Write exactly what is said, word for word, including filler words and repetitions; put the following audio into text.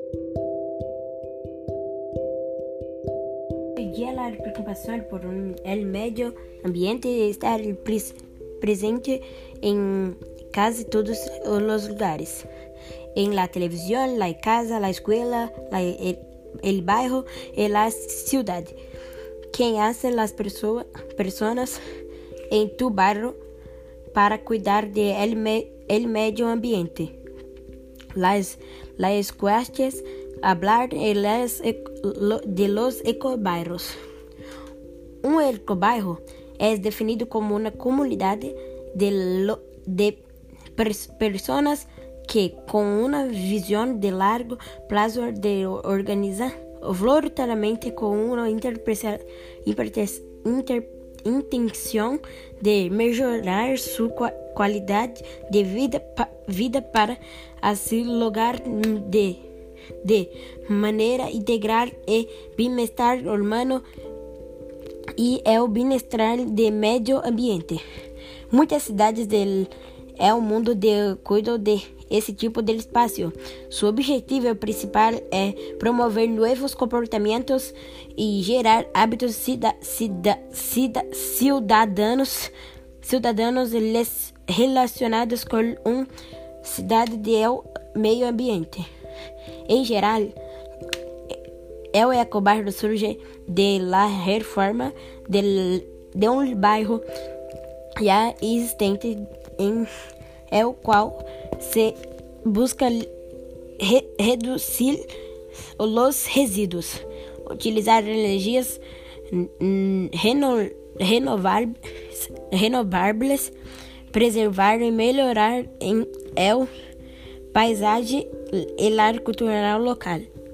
Y la preocupación por el medio ambiente está pres- presente en casi todos los lugares. En la televisión, la casa, la escuela, la, el, el barrio y la ciudad. ¿Qué hacen las perso- personas en tu barrio para cuidar del me- el medio ambiente? Las, las cuestiones, hablar de, las, de los ecobarrios. Un ecobarrio es definido como una comunidad de, lo, de pers- personas que, con una visión de largo plazo, de organizar voluntariamente con una interpreta- interpreta- inter- intención de mejorar su qua- calidad de vida, pa- vida para así lograr de, de manera integral el bienestar humano y el bienestar del medio ambiente. Muchas ciudades del el mundo de cuidam de esse tipo de espaço. Su objetivo principal é promover novos comportamentos e gerar hábitos cida, cida, cida, cidadãos, cidadãos relacionados com uma cidade do meio ambiente. Em geral, el ecobarrio surge de la reforma de, de um bairro já existente em el qual se busca re, reduzir os resíduos, utilizar energias reno, renováveis, renováveis, preservar e melhorar em el paisagem e a cultura local.